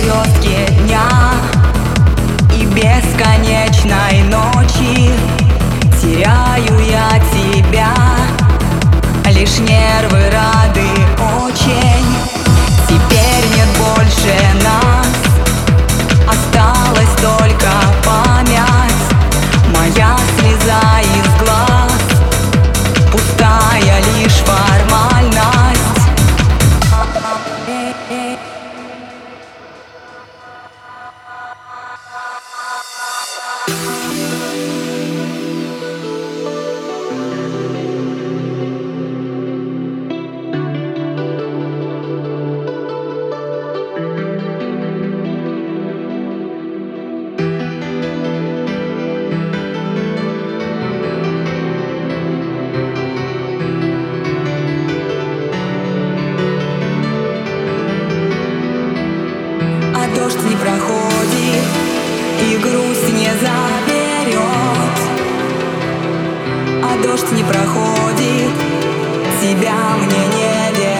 звездки дня и бесконечной ночи. Теряю я тебя, лишь нервы рады очень. Теперь нет больше нас, осталась только память. Моя слеза из глаз, пустая лишь формальность. Дождь не проходит и грусть не заберет, а дождь не проходит, тебя мне не вернет.